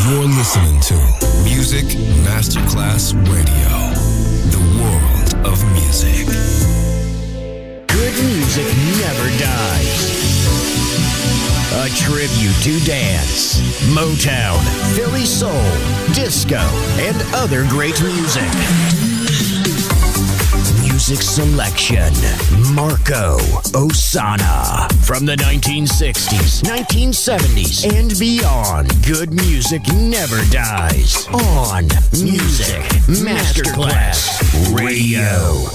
You're listening to Music Masterclass Radio, the world of music. Good music never dies. A tribute to dance, Motown, Philly soul, disco, and other great music. Music selection, Marco Ossanna. From the 1960s, 1970s, and beyond, good music never dies. On Music Masterclass Radio.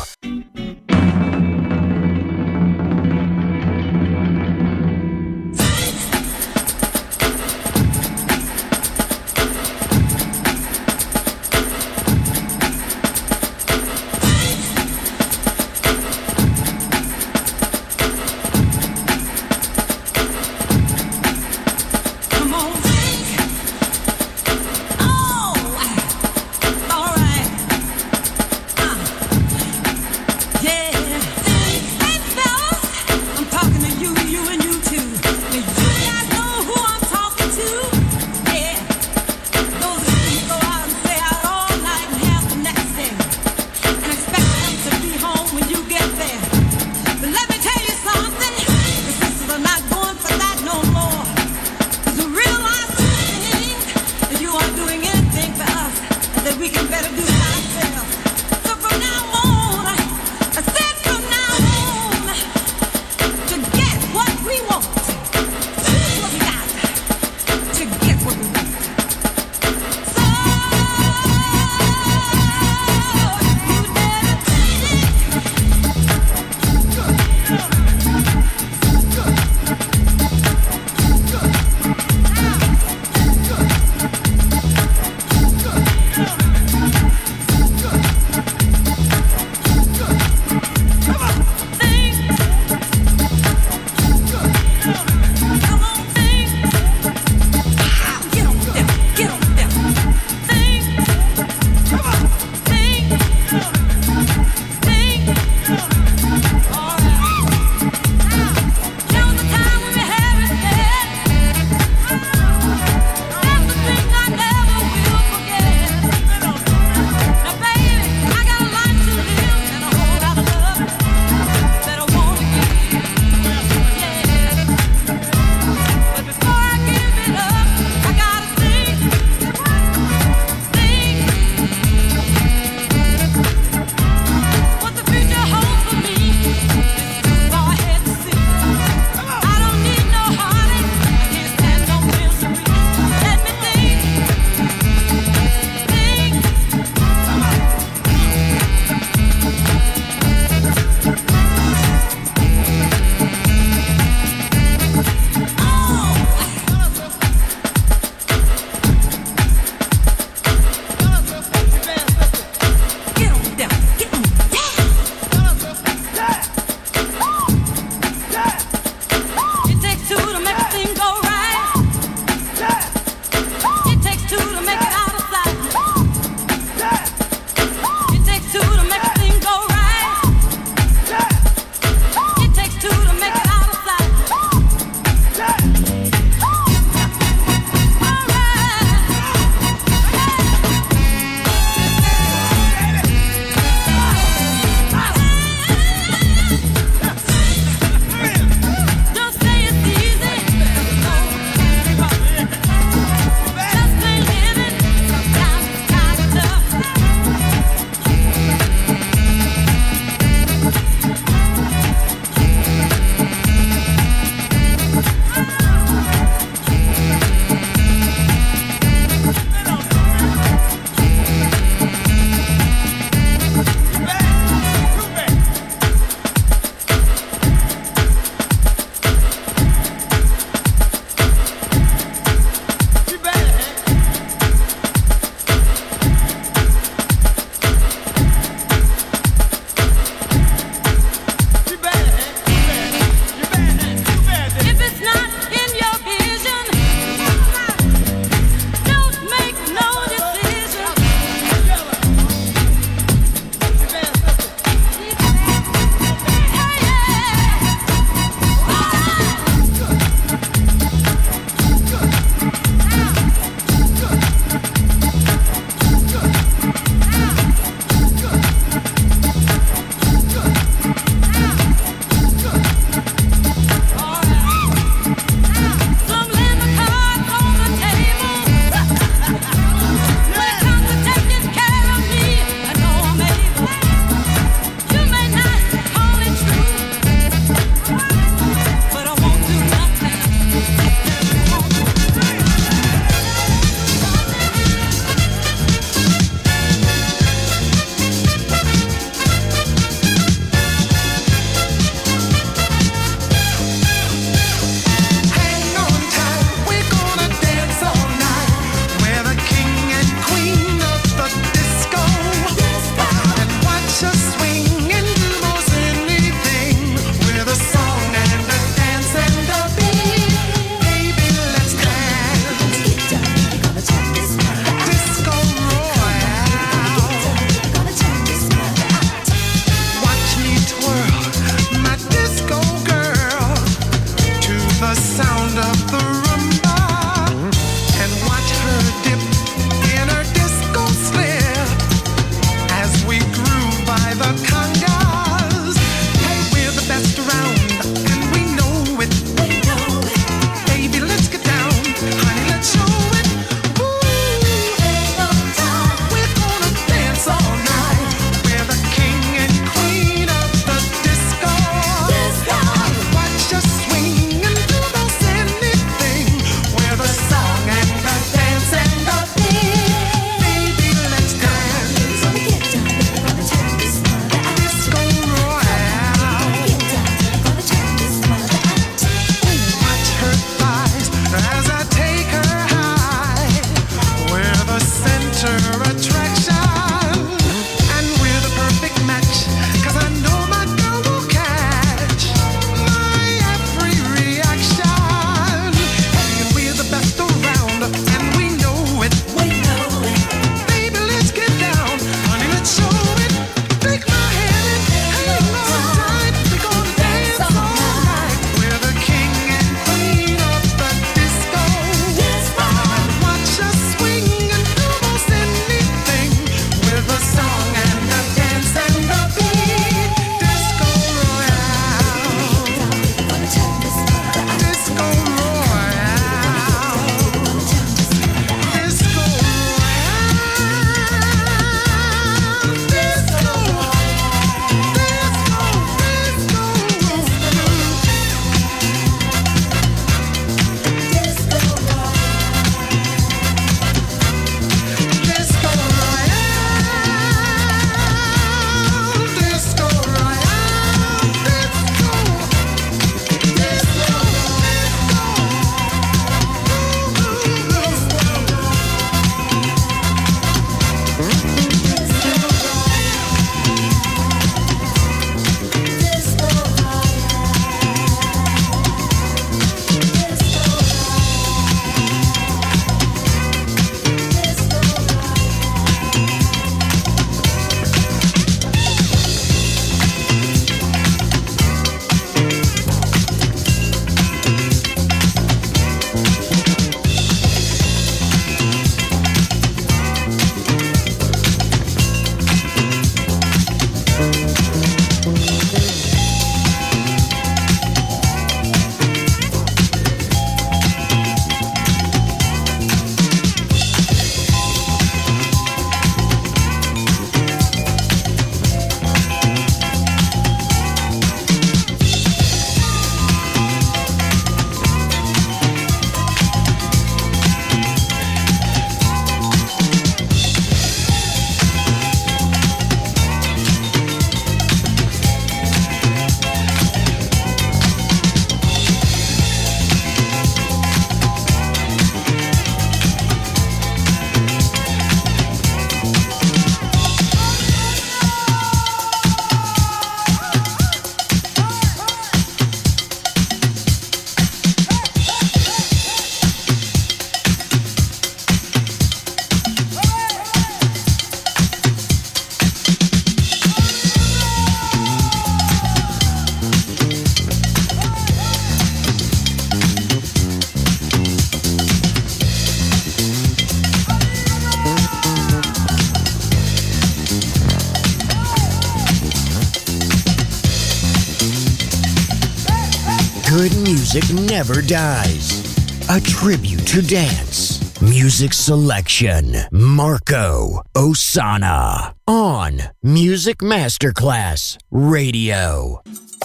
good music never dies. A tribute to dance. Music selection. Marco Ossanna on Music Masterclass Radio.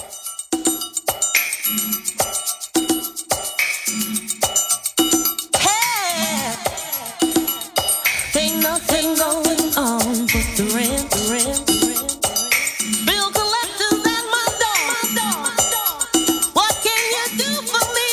Ain't nothing going on but the rent. Bill collectors at my door. What can you do for me?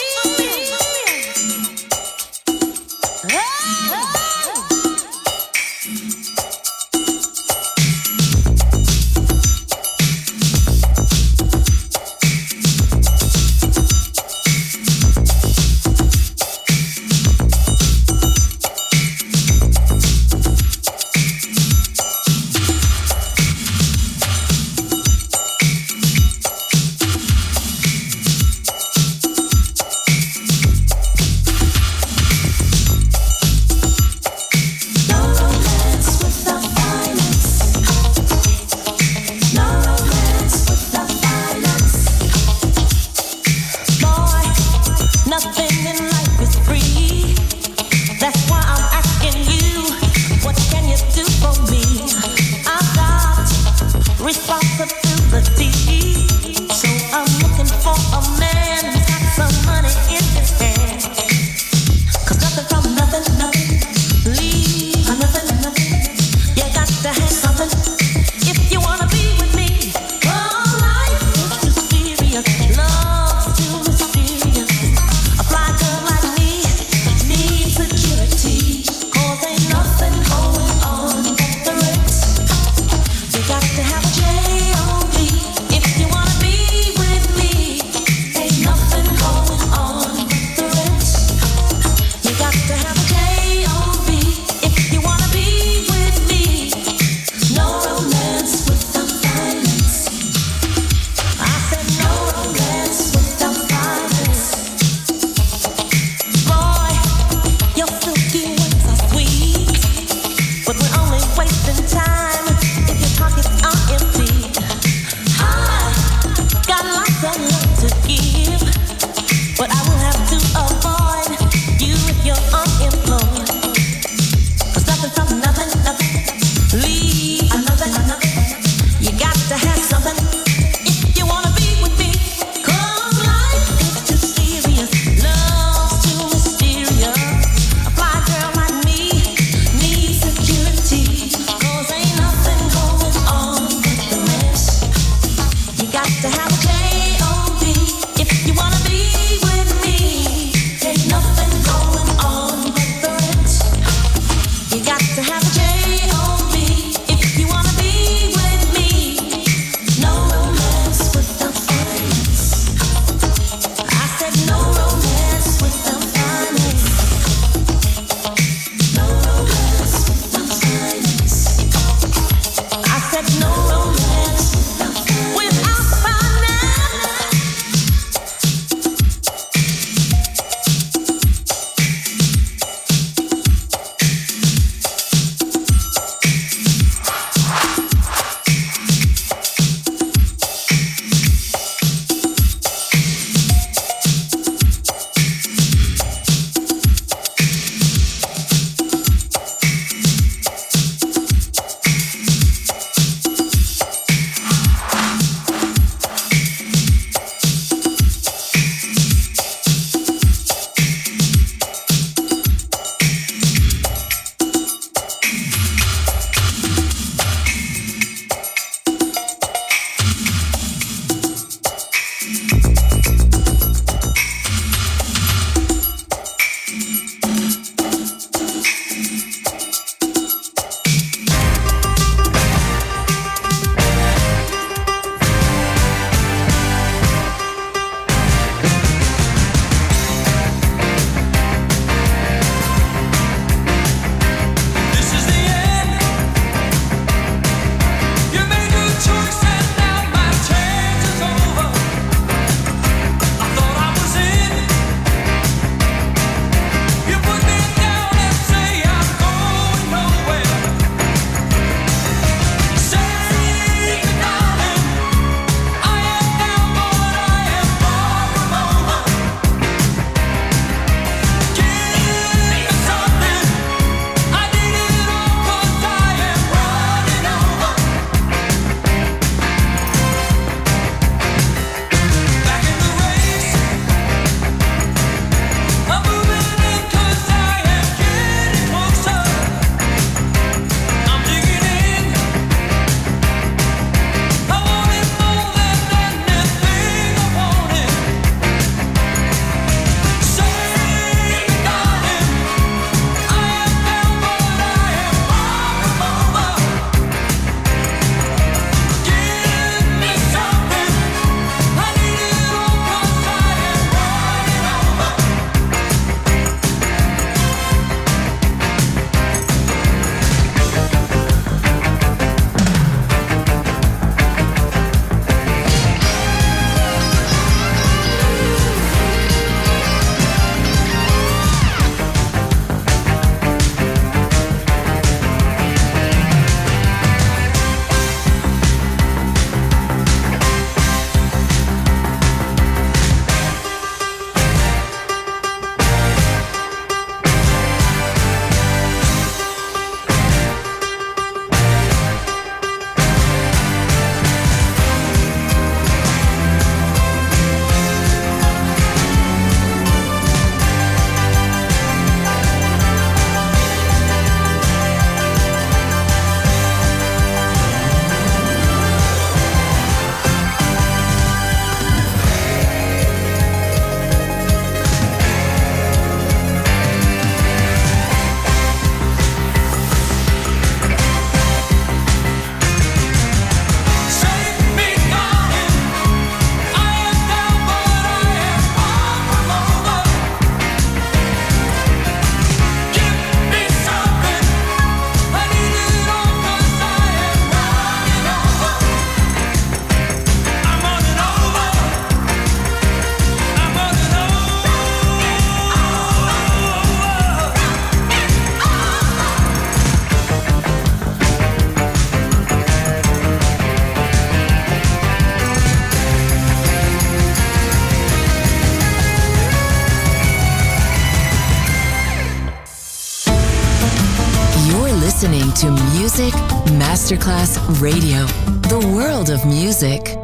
listening to Music Masterclass Radio, the world of music.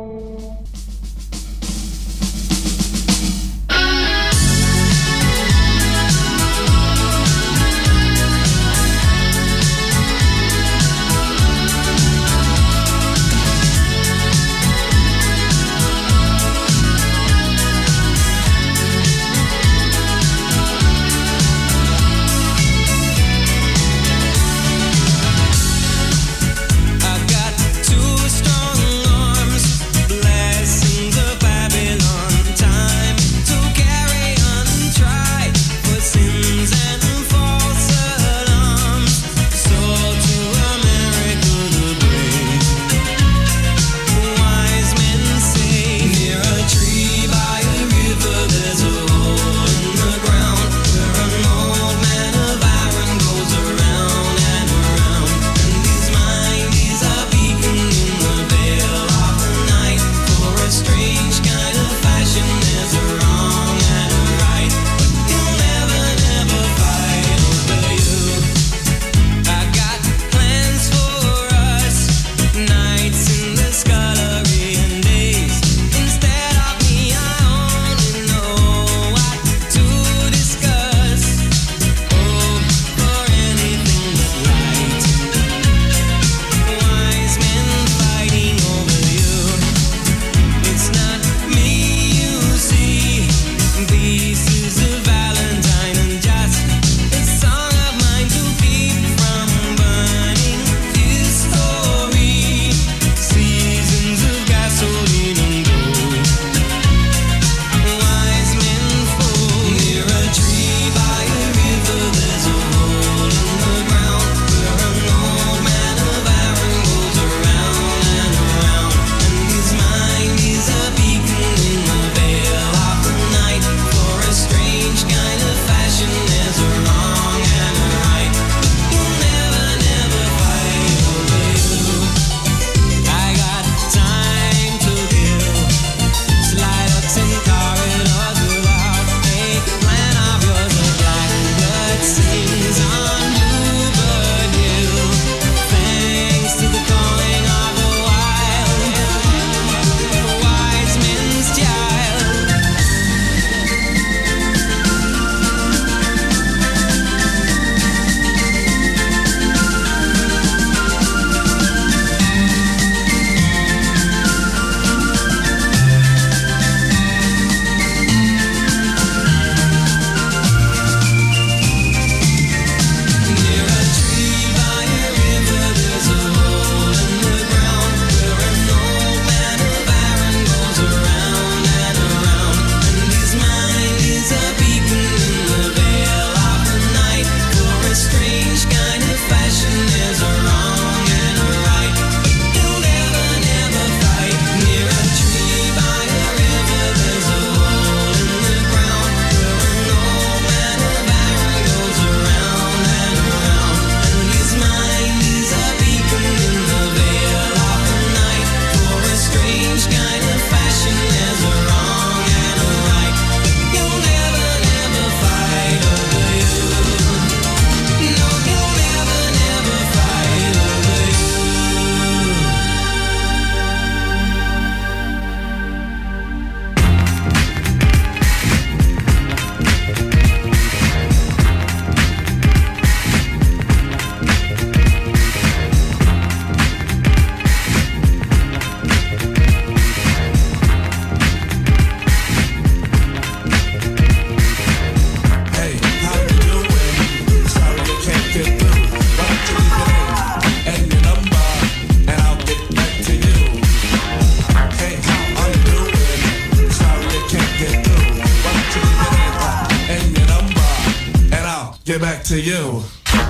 get back to you.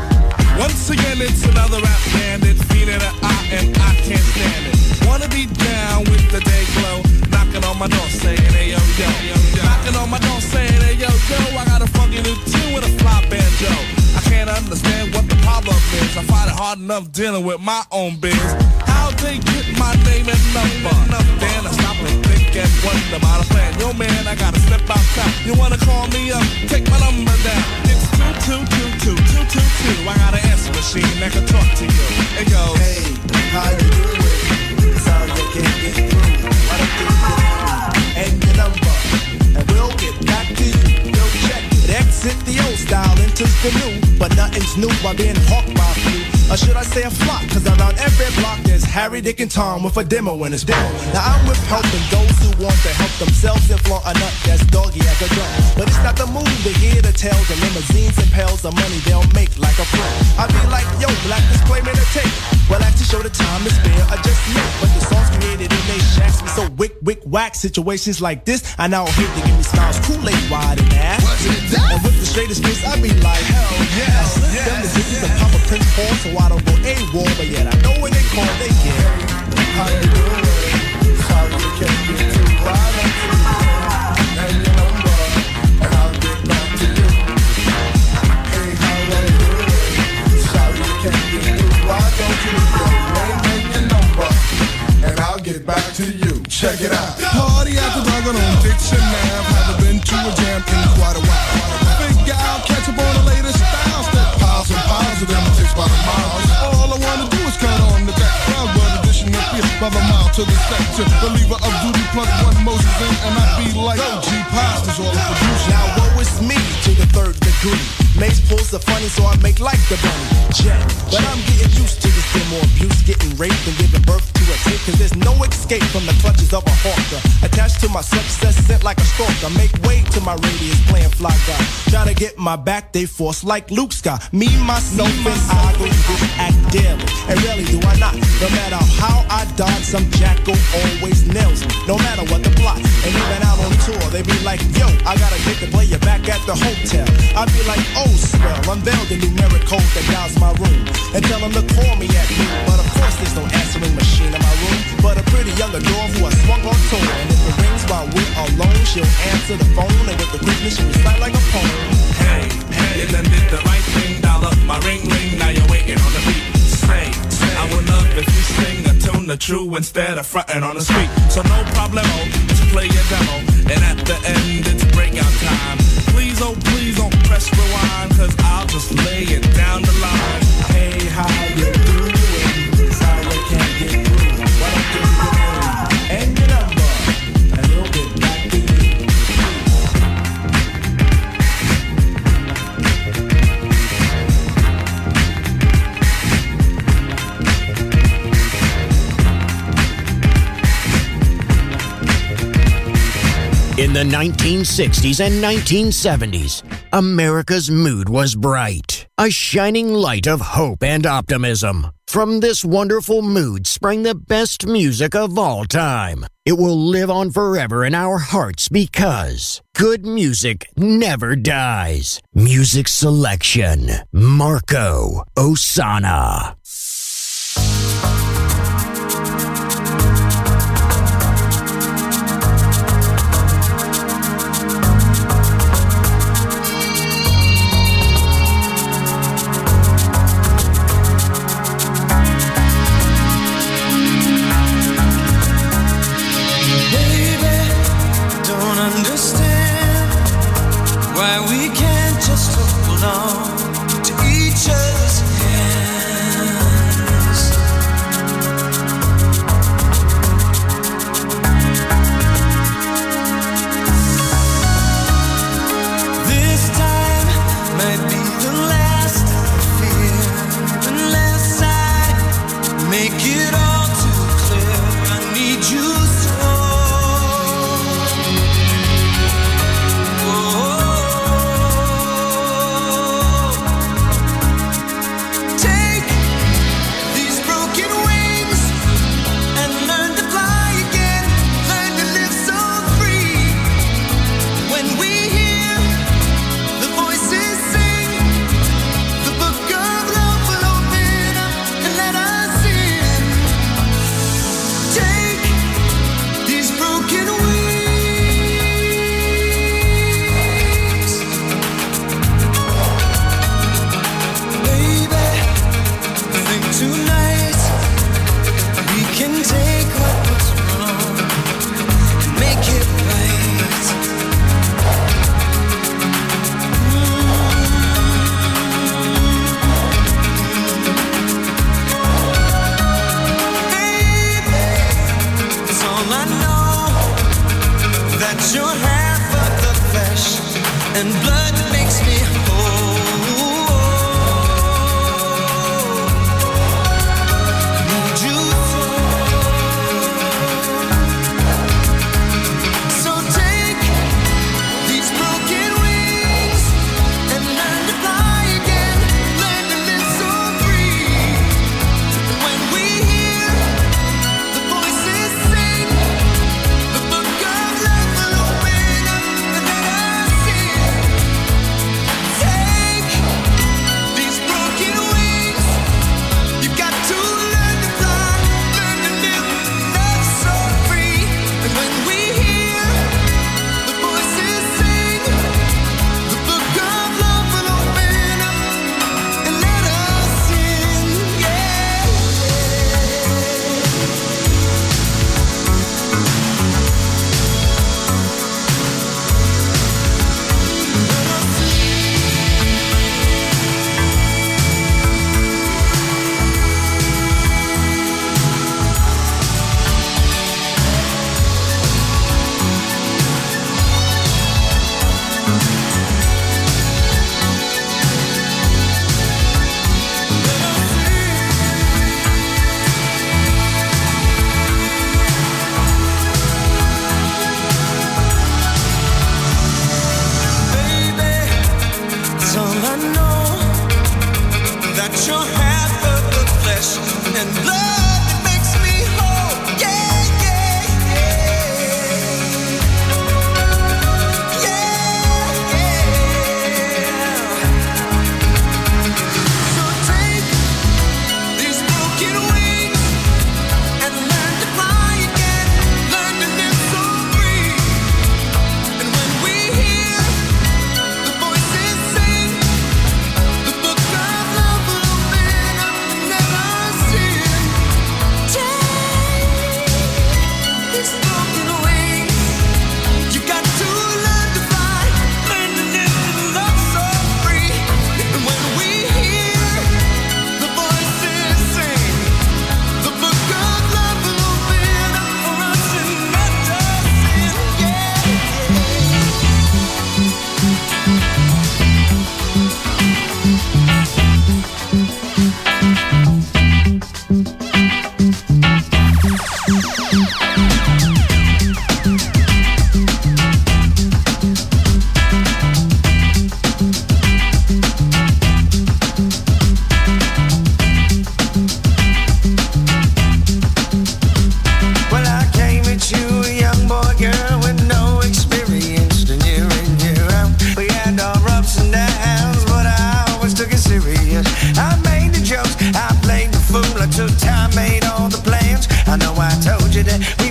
Once again, it's another rap bandit, feeling an I and I can't stand it. Wanna be down with the day glow, knocking on my door saying, hey yo yo, knocking on my door saying, hey yo yo, I got a funky new tune with a fly banjo. I can't understand what the problem is. I find it hard enough dealing with my own biz. How they get my name and number? Then I stop and think and wonder about a plan. Yo man, I gotta step outside. You wanna call me up? Take my number down. It's 2222222. I gotta answer the machine that can talk to you. It goes, hey, how you doing? Sorry I can't get through. Why don't you get through? And your number, and we'll get back to you. Yo, check it. Exit the old style, enters the new. But nothing's new by being hawked by a few. Or should I say a flock? Cause around every block there's Harry, Dick, and Tom with a demo in his demo. Now I'm with helping those who want to help themselves and flaunt a nut that's doggy as a drum. But it's not the move to hear the tales of limousines and pails of money they'll make like a pro. I be like, yo, black display made a tape. Well, I to show the time to spare, I just make. But the songs created in they shacks be so wick, whack. Situations like this, I now hate to give me smiles, Kool-Aid wide and ass. And with the straightest face, I be like, hell yes, yes. Them the bitches and Papa Prince Paul, so I don't go AWOL, but yet I know when they call, they get. How you doing? Sorry you can't get too wide on you. And your number, and I'll get back to you. Hey, how you doing? Sorry you can't get too wide on you. Your name and your number, and I'll get back to you. Check it out. Party after dark on Dixon Ave. Haven't been to a jam in quite a while. Figure out, catch up on the latest styles. That piles and piles of them takes by the miles. All I wanna do is cut on the back crowd, but addition up here by the mile to the sector. Believer of duty, plug one Moses in, and I be like, oh, G Pasta's all the producer. Now woe is me to the third degree. Mace pulls the funny, so I make like the bunny. Jet. But I'm getting used to this demo abuse, getting raped and giving birth to a tape. Cause there's no escape from the clutches of a hawker. Attached to my success, sent like a stalker. Make way to my radius, playing fly guy. Try to get my back, they force like Luke Scott. Me, myself, and I go this act daily. And rarely do I not. No matter how I dodge, some jackal always nails me. No matter what the plot. And even out on tour, they be like, yo, I gotta get to play you back at the hotel. I be like, oh, swell, unveil the numeric code that dials my room. And tell them to call me at noon. But of course there's no answering machine in my room. But a pretty young adore who I swung on tour. And if it rings while we're alone, she'll answer the phone. And with the quickness she'll recite like a poem. Hey, you done did the right thing. Dial up my ring, now you're waiting on the beat. Say, I would love if you sing a tune the true instead of frontin' on the street. So no problemo, just play your demo. And at the end it's breakout time. Please, oh please don't press rewind, cause I'll just lay it down the line. Hey, how you doing? Sorry I can't get through. Why don't you get in? And your number, and we'll get back to you. In the 1960s and 1970s, America's mood was bright, a shining light of hope and optimism. From this wonderful mood sprang the best music of all time. It will live on forever in our hearts because good music never dies. Music selection, Marco Ossanna. Why we can't just hold on to each other's hand.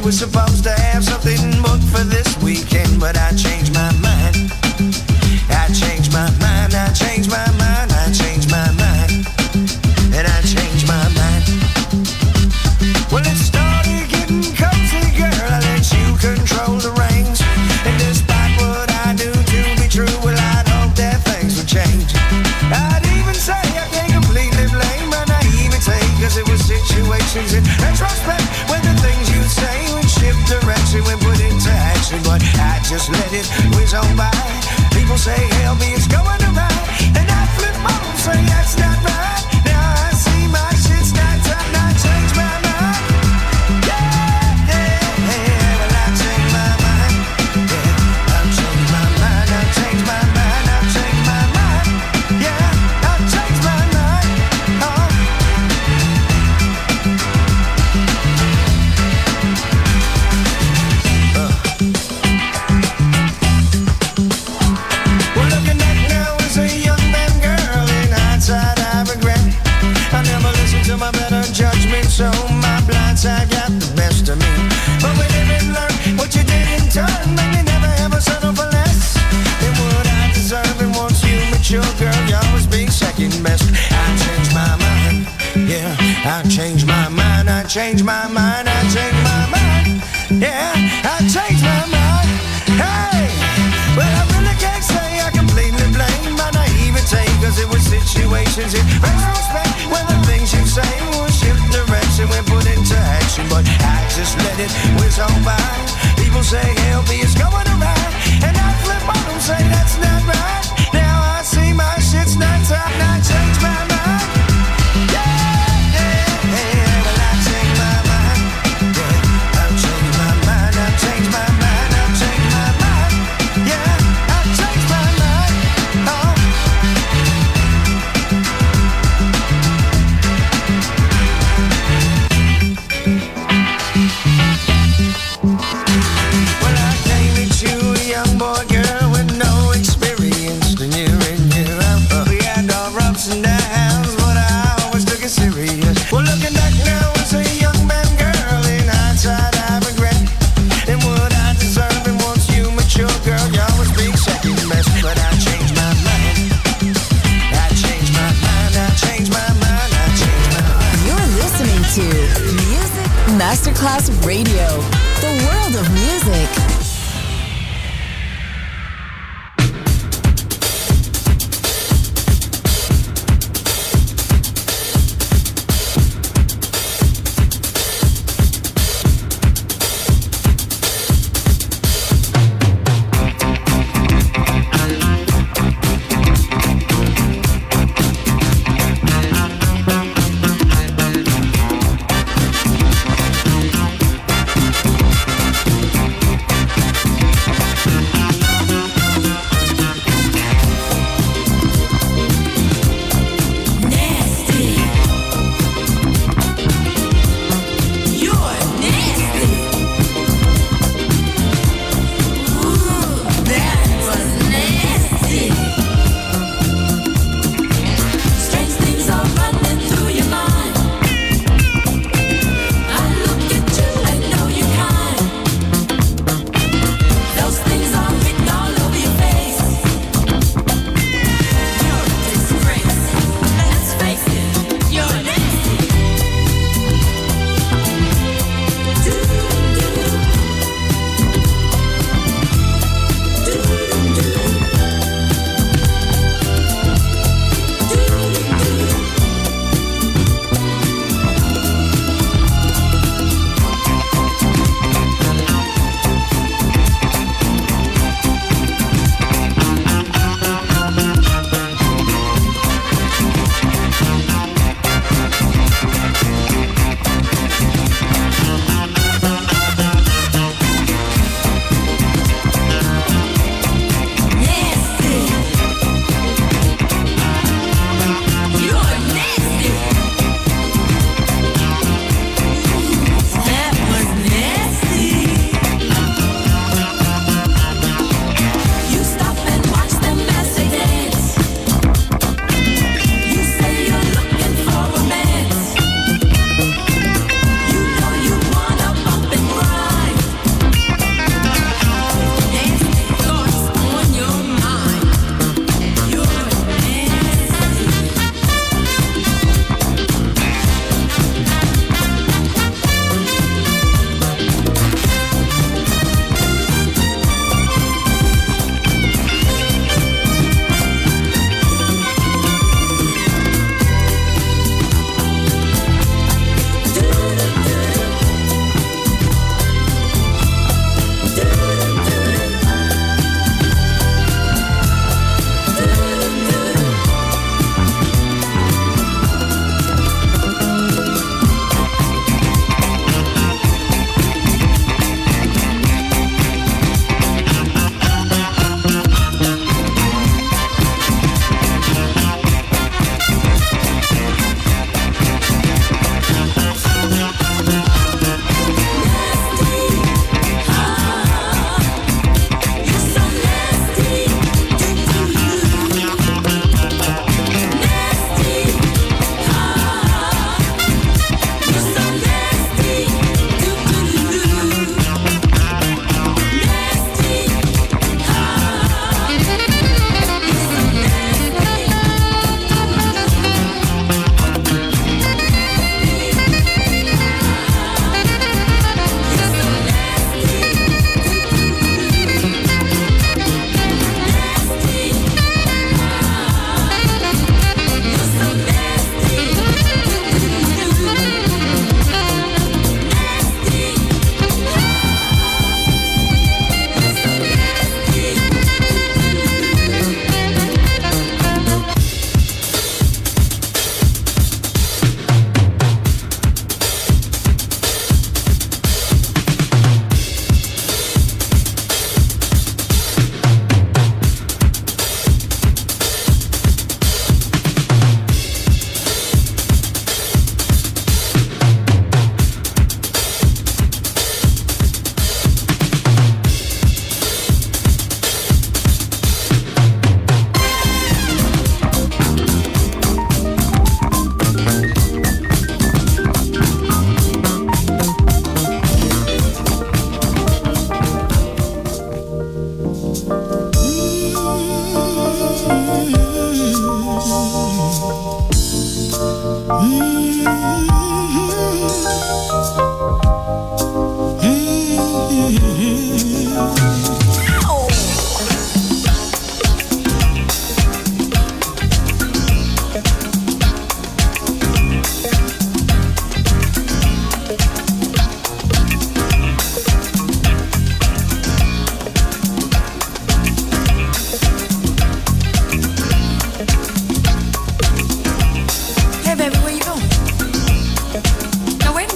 was supposed to have something booked for this weekend, but I changed my mind. I changed my mind, I changed my mind, I changed my mind, and I changed my mind. Well, it started getting cozy, girl, I let you control the reins. And despite what I do to be true, well, I'd hope that things would change. I'd even say I can't completely blame my naivete, cause it was situations in retrospect when the things you say would shift direction when put into action. But I just let it whiz on by. People say, help me, it's going around. And I flip on and say, that's not right. Now I see my shit's not time, I change my mind. Yeah, yeah, yeah, well I change my mind. Yeah, I've changed my mind, I've changed my mind, I've changed my mind. Yeah, I've changed my mind. Oh. Well, looking back now as a young man, girl, in hindsight I regret I never listened to my better judgment, so my blind side got the best of me. But we live and learn what you did in turn, man, you never ever settle for less than what I deserve. And once you mature, girl, you always be second best. I changed my mind, yeah, I changed my mind, I changed my mind, I changed my mind, yeah, I changed my mind. Hey, well I really can't say I completely blame my naivete, cause it was situations in retrospect when the things you say will shift direction when put into action. But I just let it whiz on by. People say, help me, it's going around. And I flip on and say, that's not right. Now I see my shit's not time, and I change my mind. Yeah, yeah, yeah, well I changed my mind. Yeah, I've changed my mind, I've changed my mind, I've changed my mind. Yeah, I've changed my mind. Oh. Well, I came at you, a young boy, girl, with no experience. And year in, year out, we had our ups and downs, but I always took it serious. Well, looking back now as a young man, girl, in hindsight I regret and what I deserve. And once you mature, girl, you always be second best. But I changed my mind, I changed my mind, I changed my mind, I changed my mind. You're listening to Music Masterclass Radio, the world of music.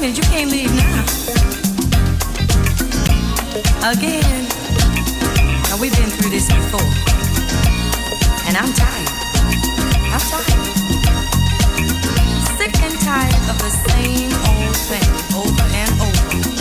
minute, you can't leave now. Again. Now, we've been through this before. And I'm tired. I'm tired. Sick and tired of the same old thing over and over.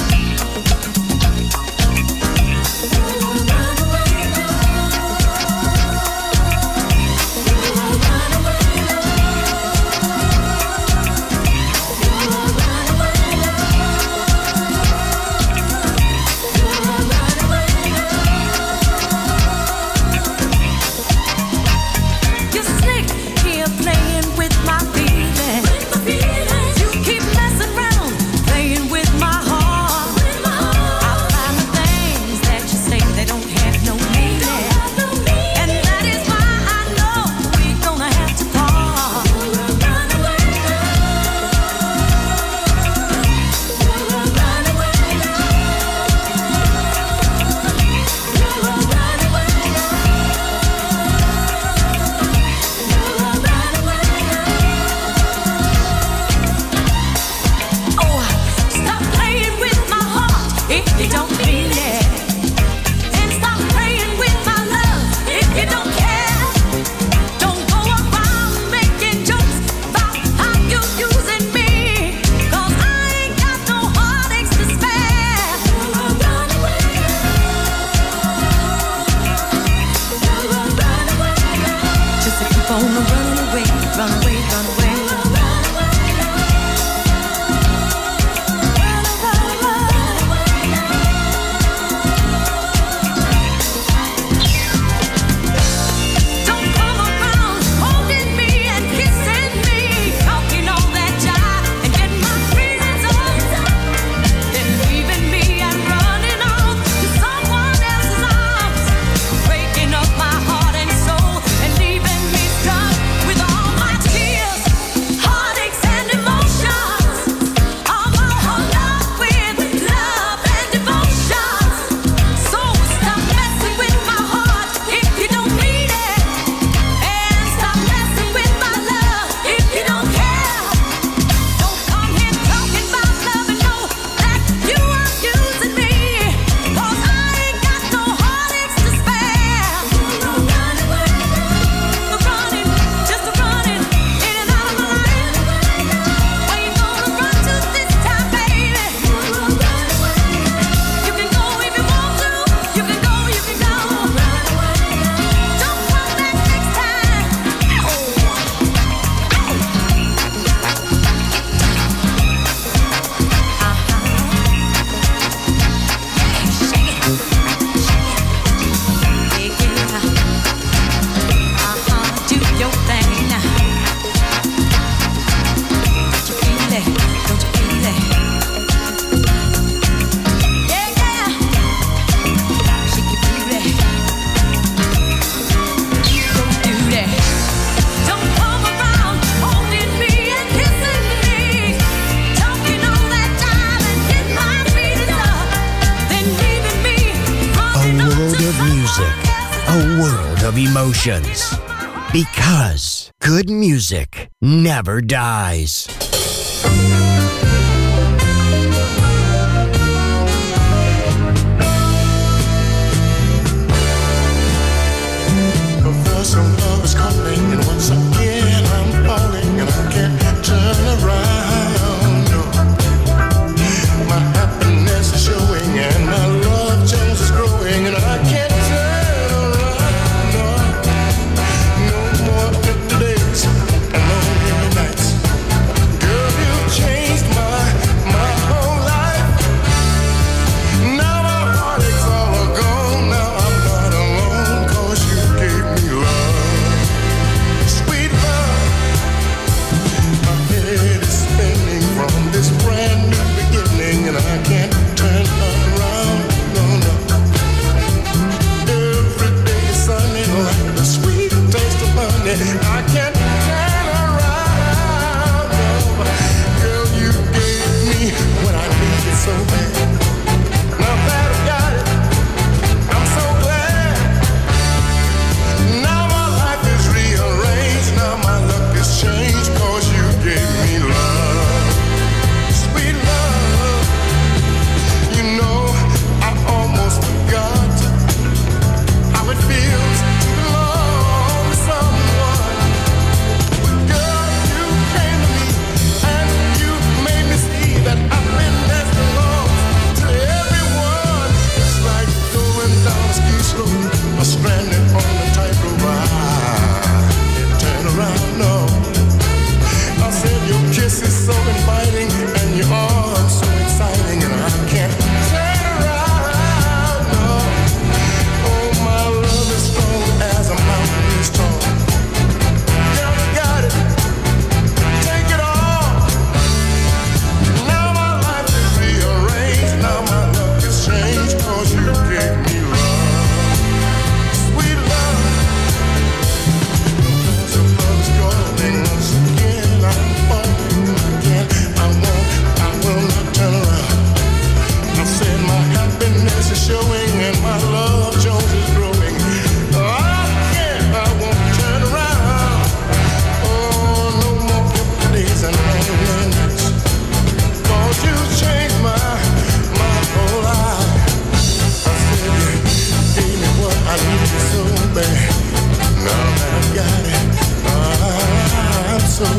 Emotions. Because good music never dies. Some love is calling, and once again I'm falling, and I can't turn around. No. My happiness is showing, and my love change is growing, and I can't turn around. No, no more empty days and lonely nights. Girl,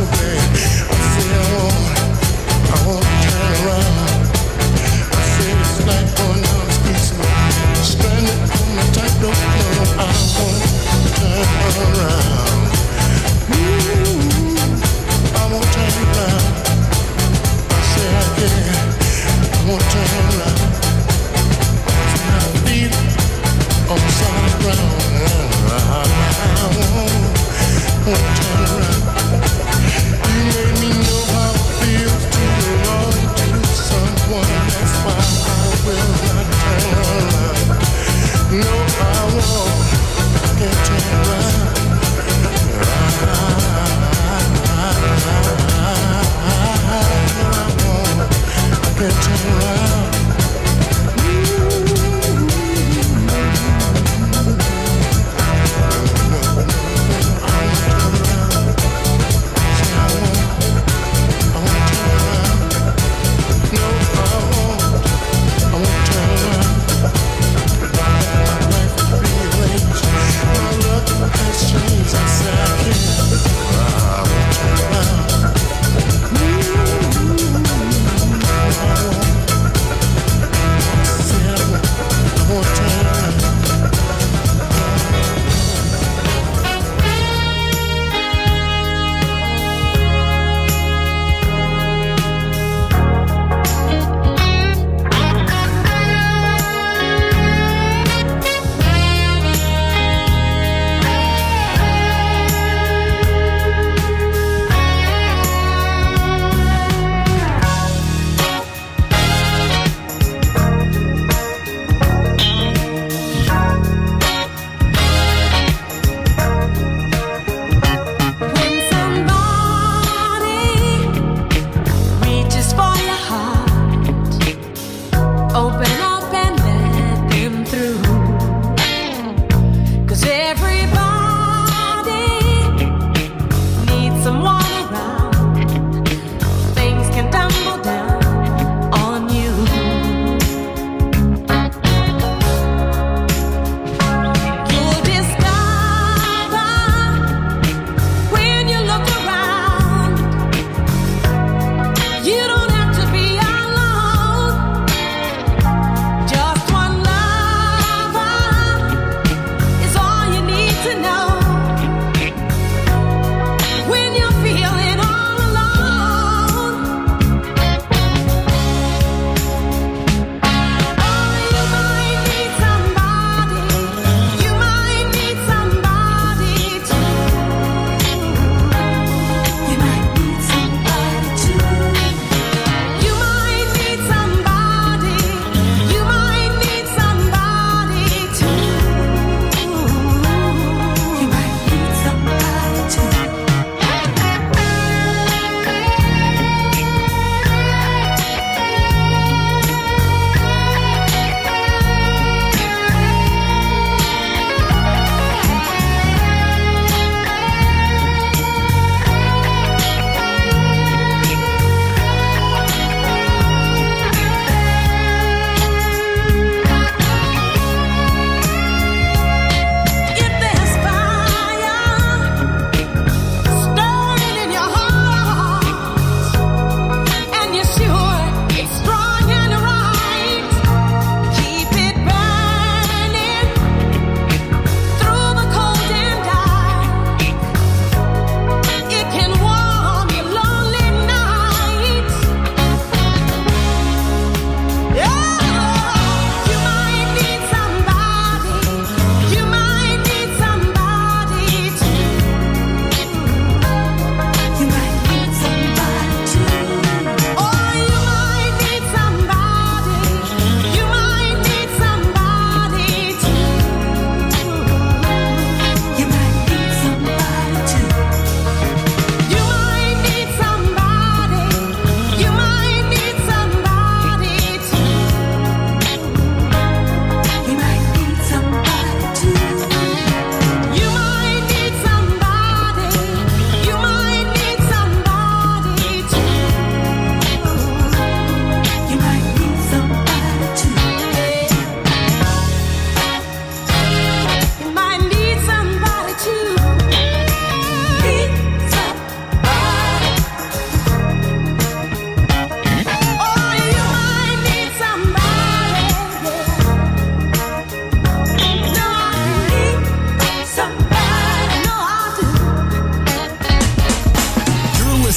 You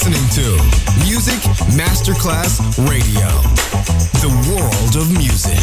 listening to Music Masterclass Radio, the world of music.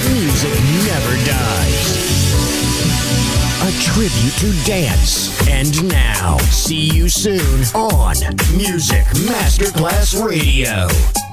music never dies. A tribute to dance. And now, see you soon on Music Masterclass Radio.